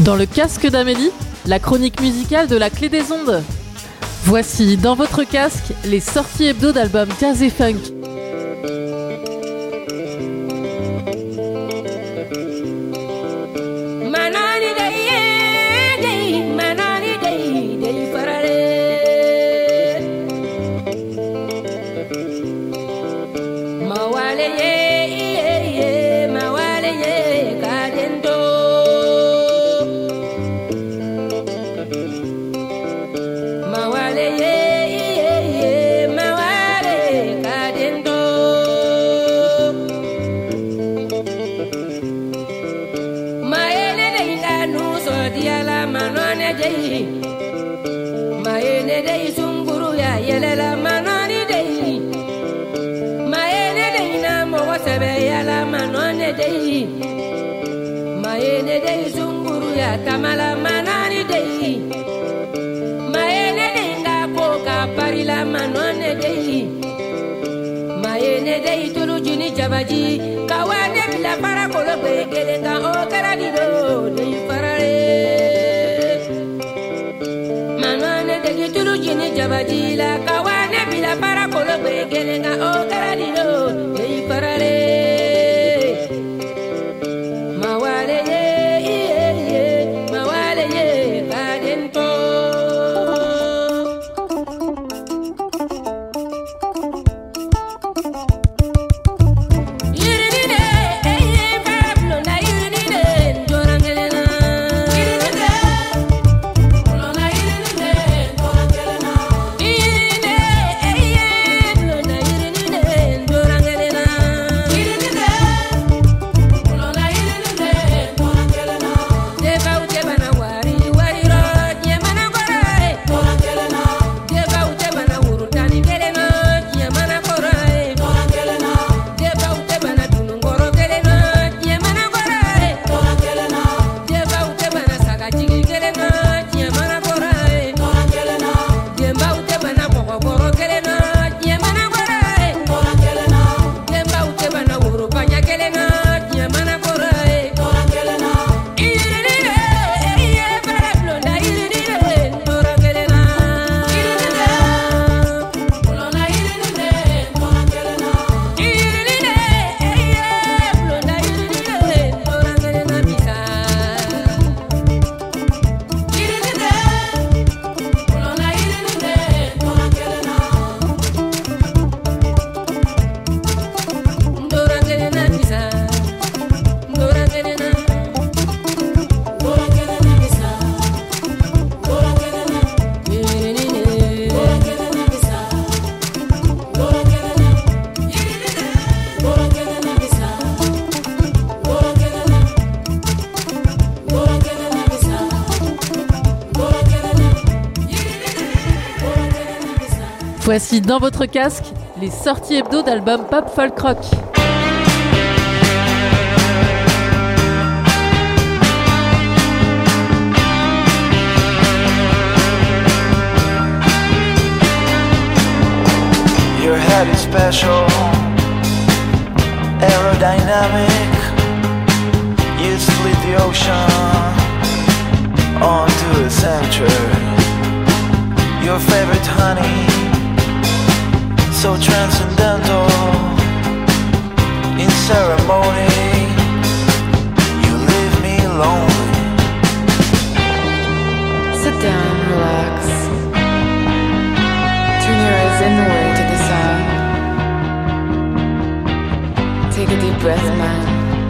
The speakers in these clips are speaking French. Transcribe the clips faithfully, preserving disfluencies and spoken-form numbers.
Dans le casque d'Amélie, la chronique musicale de la Clé des Ondes. Voici dans votre casque les sorties hebdo d'albums jazz et funk. Maene dei zunguru ya tamala manani dei Maene dei nga poka parila manone dei Maene dei tulu jini jabaji kawane bila para kolo begele nga o karadido dei farare Manone dei tulu jini jabaji la kawane bila para kolo begele nga o karadido dei farare Voici dans votre casque les sorties hebdo d'albums pop folk rock. Your head is special, aerodynamic. You split the ocean onto a center. Your favorite honey, so transcendental. In ceremony, you leave me lonely. Sit down, relax. Turn your eyes inward to the sound. Take a deep breath, man.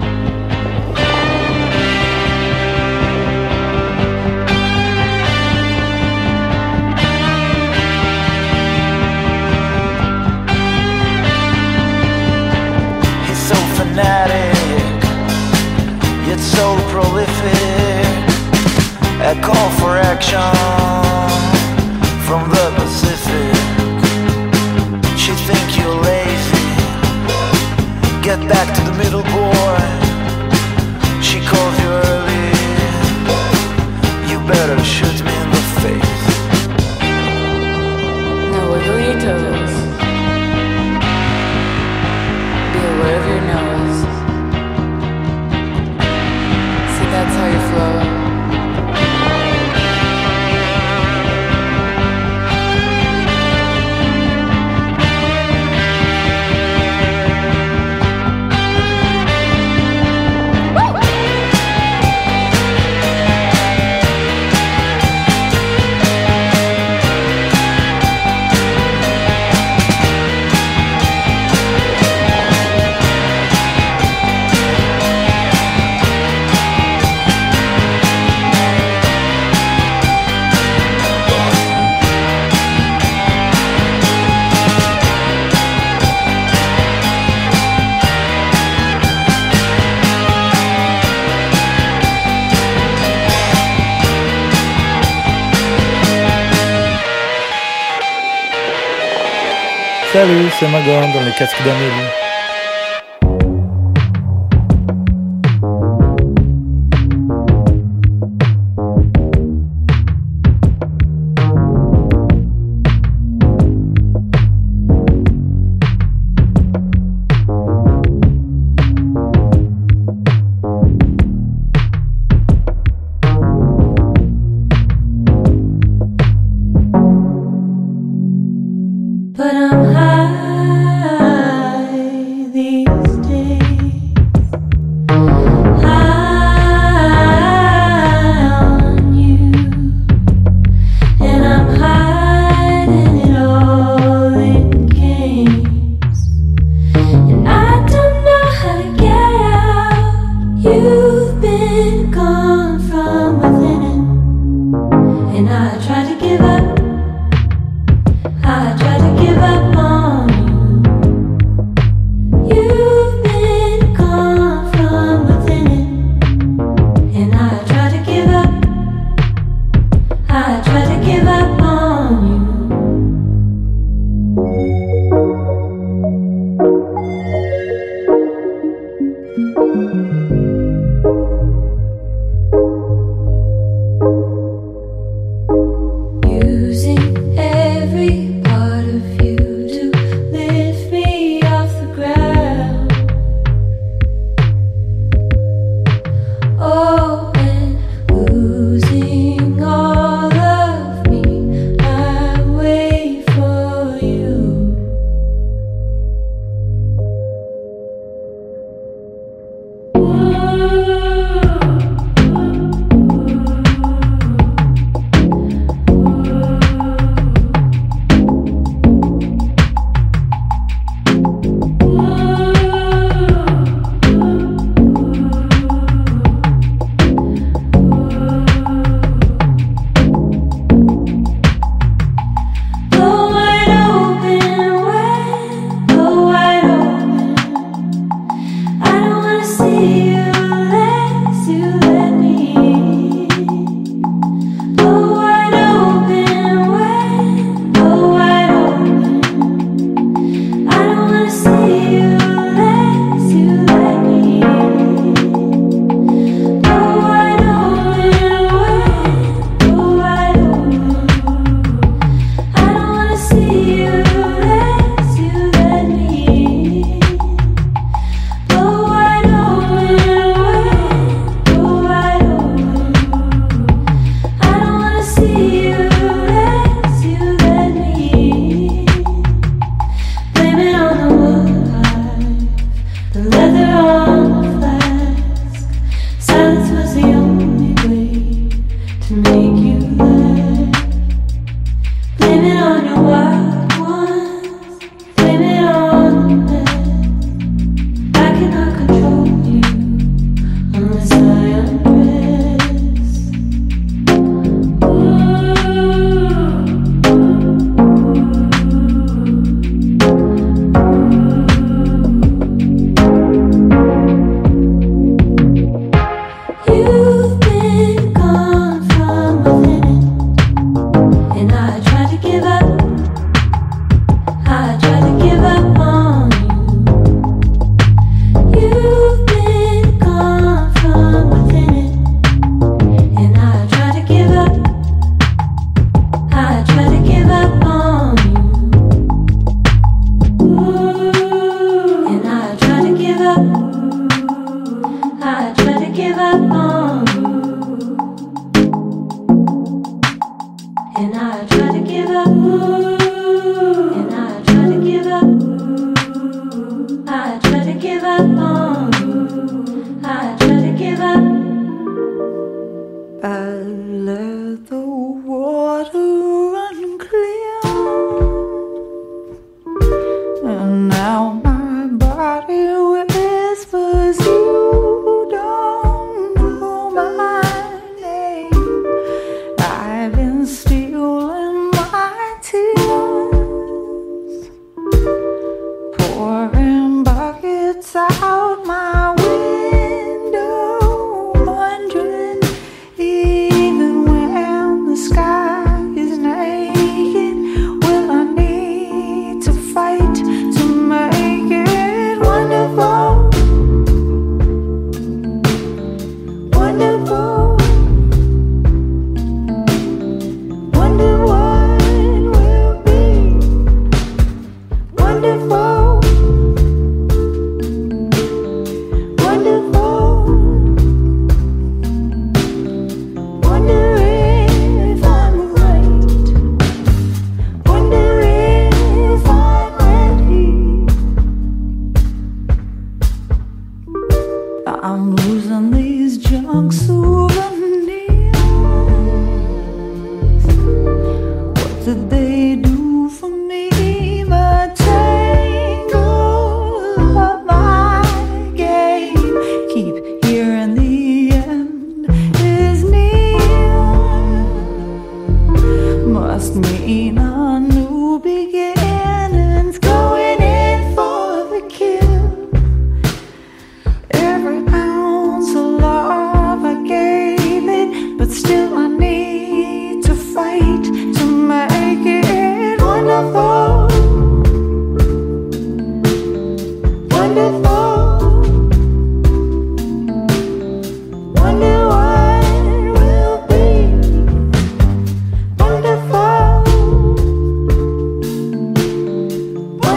Fanatic, yet so prolific. A call for action from the Pacific. She think you're lazy. Get back to the middle, boy. Salut, c'est Magon dans les casques d'Amélie. But I'm high these days, high on you, and I'm hiding it all in games, and I don't know how to get out. You've been gone from within it, and I tried to give up. I tried to give up on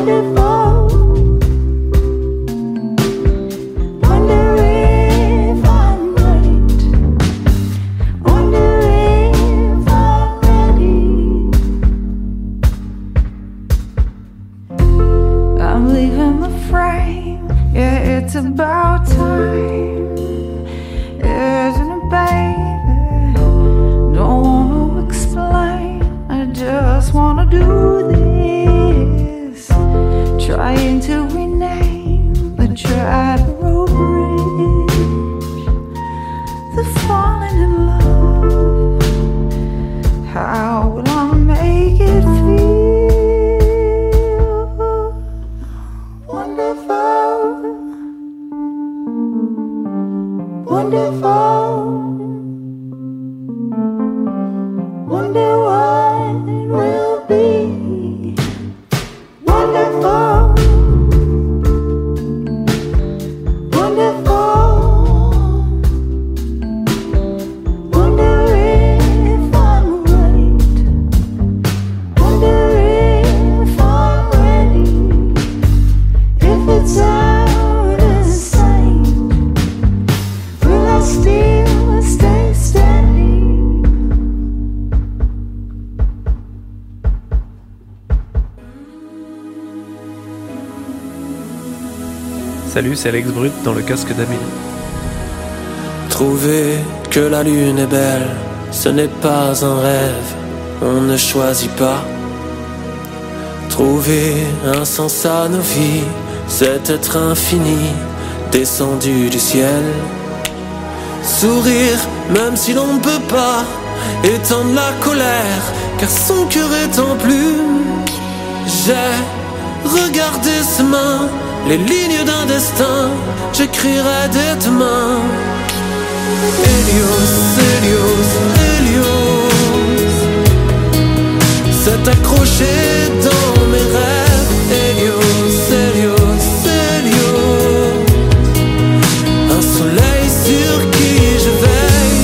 Salut, c'est Alex Brut dans le casque d'Amélie. Trouver que la lune est belle, ce n'est pas un rêve, on ne choisit pas. Trouver un sens à nos vies, c'est être infini, descendu du ciel. Sourire, même si l'on ne peut pas éteindre la colère, car son cœur est en plume. J'ai regardé ses mains, les lignes d'un destin, j'écrirai dès demain. Hélios, Hélios, Hélios, s'est accroché dans mes rêves. Hélios, Hélios, Hélios, un soleil sur qui je veille.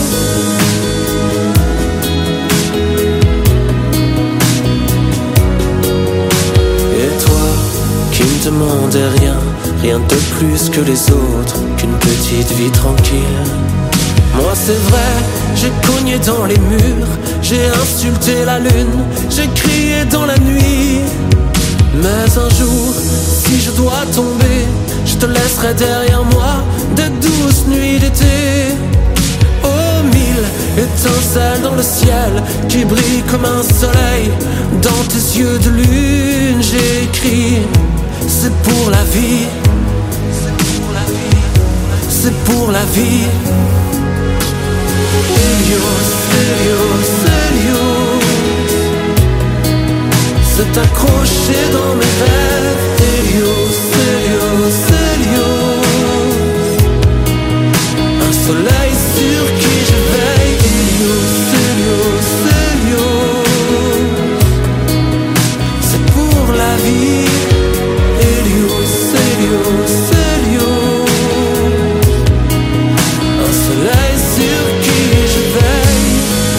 Et toi, qui ne demandais rien, rien de plus que les autres, qu'une petite vie tranquille. Moi c'est vrai, j'ai cogné dans les murs, j'ai insulté la lune, j'ai crié dans la nuit. Mais un jour, si je dois tomber, je te laisserai derrière moi des douces nuits d'été. Oh, mille étincelles dans le ciel qui brillent comme un soleil. Dans tes yeux de lune, j'ai écrit: c'est pour la vie, c'est pour la vie. Hélios, Hélios, Hélios, s'est accroché dans mes rêves. Hélios, Hélios, Hélios, un soleil sur qui je veille. Hélios, Hélios, Hélios, c'est pour la vie. Hélios, Hélios, Hélios, un soleil sur qui je veille.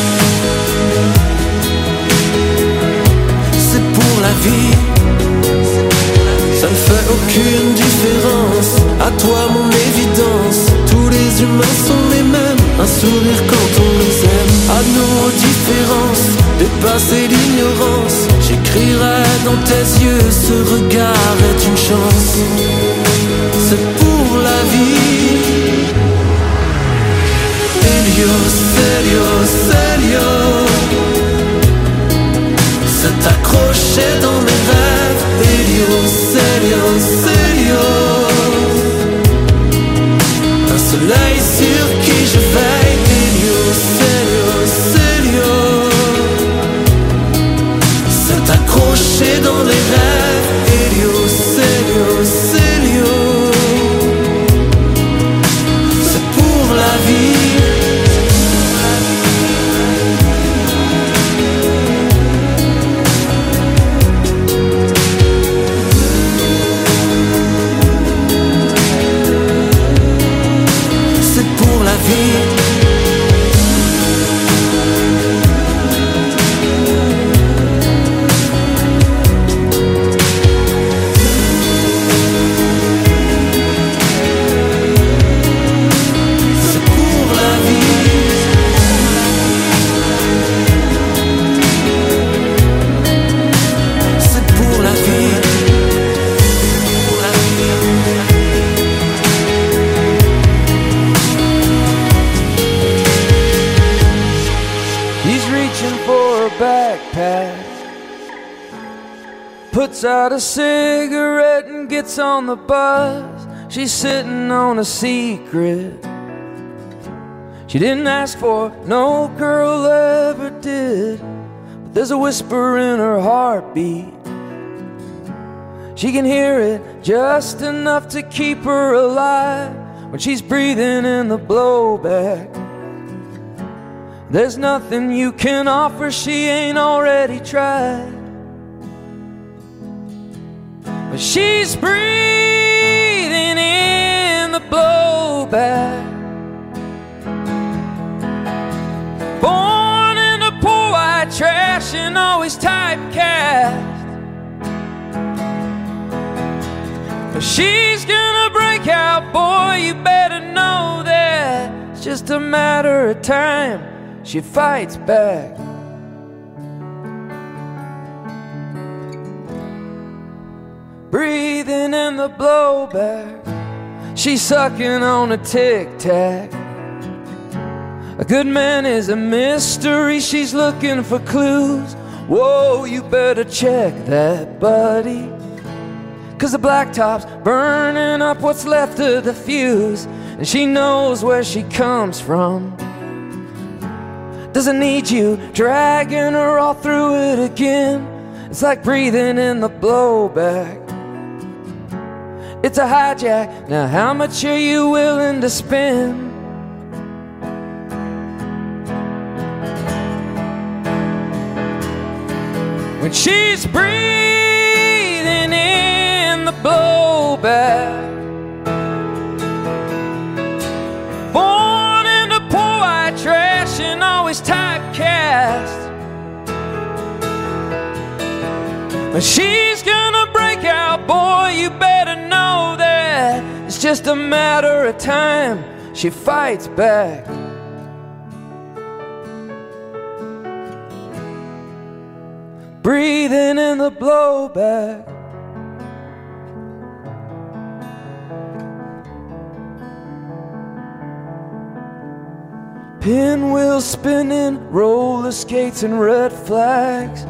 C'est pour la vie. Ça ne fait aucune différence, à toi mon évidence. Tous les humains sont les mêmes, un sourire quand on les aime. À nos différences, dépasser l'ignorance, j'écrirai dans tes yeux, ce regard est une chance. C'est pour la vie. Hélios, Hélios, Hélios, s'est accroché dans mes rêves. Hélios, Hélios, Hélios, un soleil sur qui je veille. Hélios, Hélios, Hélios, s'est accroché dans mes rêves. Hélios, Hélios, Hélios, c'est pour la vie. puts out a cigarette and gets on the bus. She's sitting on a secret she didn't ask for, no girl ever did. But there's a whisper in her heartbeat. She can hear it just enough to keep her alive when she's breathing in the blowback. There's nothing you can offer she ain't already tried. But she's breathing in the blowback. Born in the poor white trash and always typecast. But she's gonna break out, boy, you better know that. It's just a matter of time, she fights back. Breathing in the blowback, she's sucking on a tic-tac. A good man is a mystery, she's looking for clues. Whoa, you better check that, buddy, 'cause the blacktop's burning up what's left of the fuse. And she knows where she comes from. Doesn't need you dragging her all through it again. It's like breathing in the blowback. It's a hijack, now how much are you willing to spend? When she's breathing in the blowback. Born in the poor white trash and always typecast. But she's gonna break out, boy, you better know that. It's just a matter of time, she fights back. Breathing in the blowback. Pinwheel spinning, roller skates and red flags.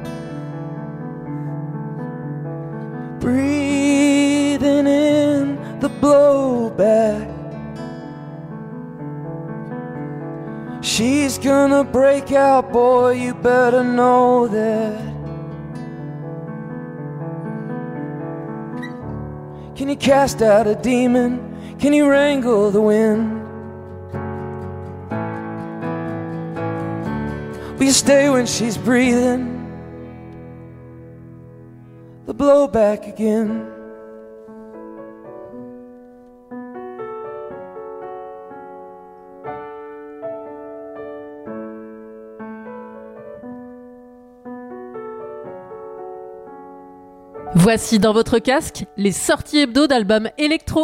Breathing in the blowback. She's gonna break out, boy, you better know that. Can you cast out a demon? Can you wrangle the wind? Will you stay when she's breathing the blowback again? Voici dans votre casque les sorties hebdo d'albums électro.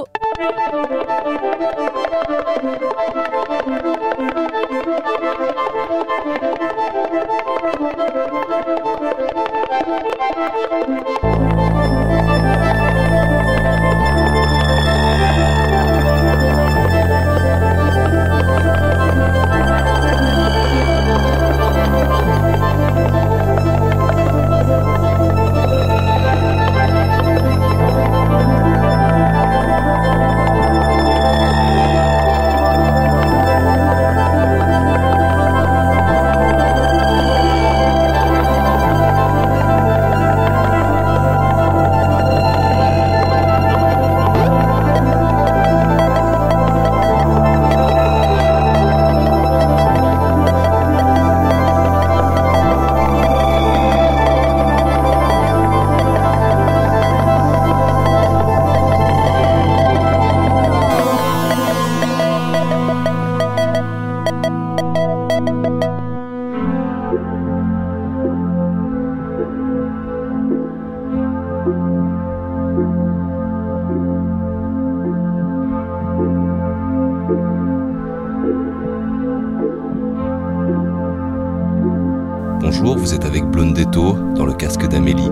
Bonjour, vous êtes avec Blondetto dans le casque d'Amélie.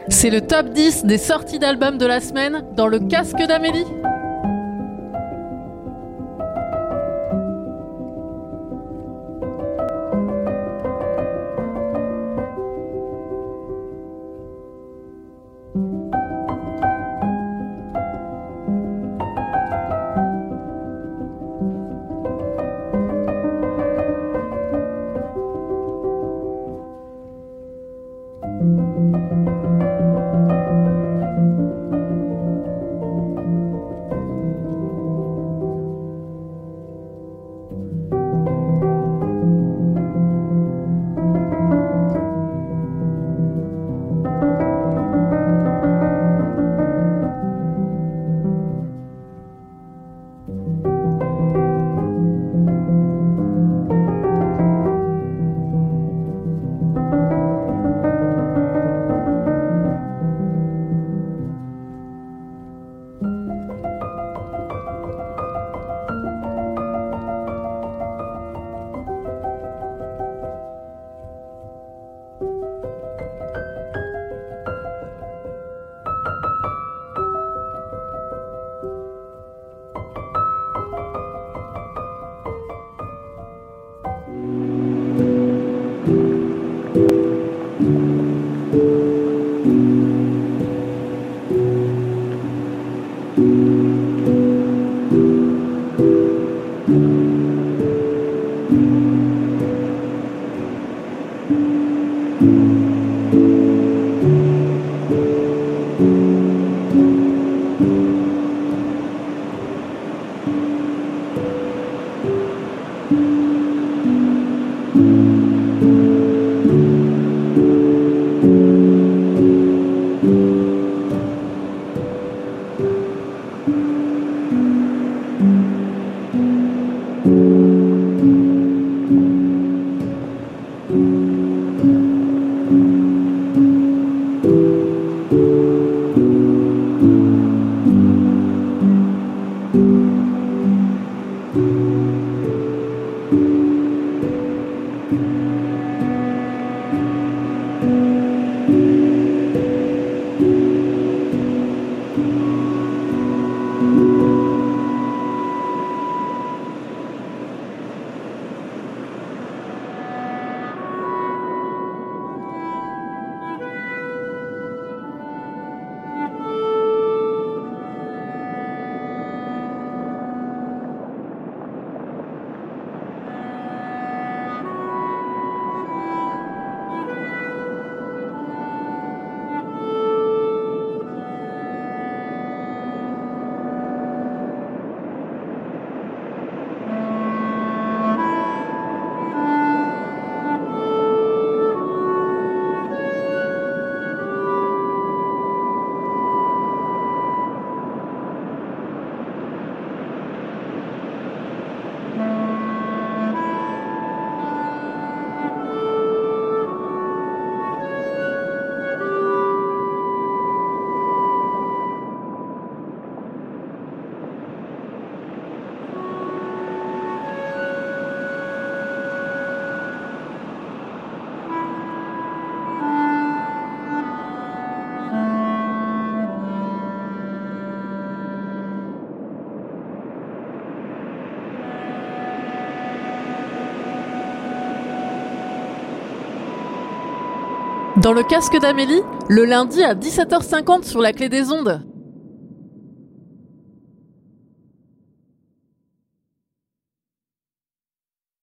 C'est le top dix des sorties d'albums de la semaine dans le casque d'Amélie. Dans le casque d'Amélie, le lundi à dix-sept heures cinquante sur la Clé des Ondes.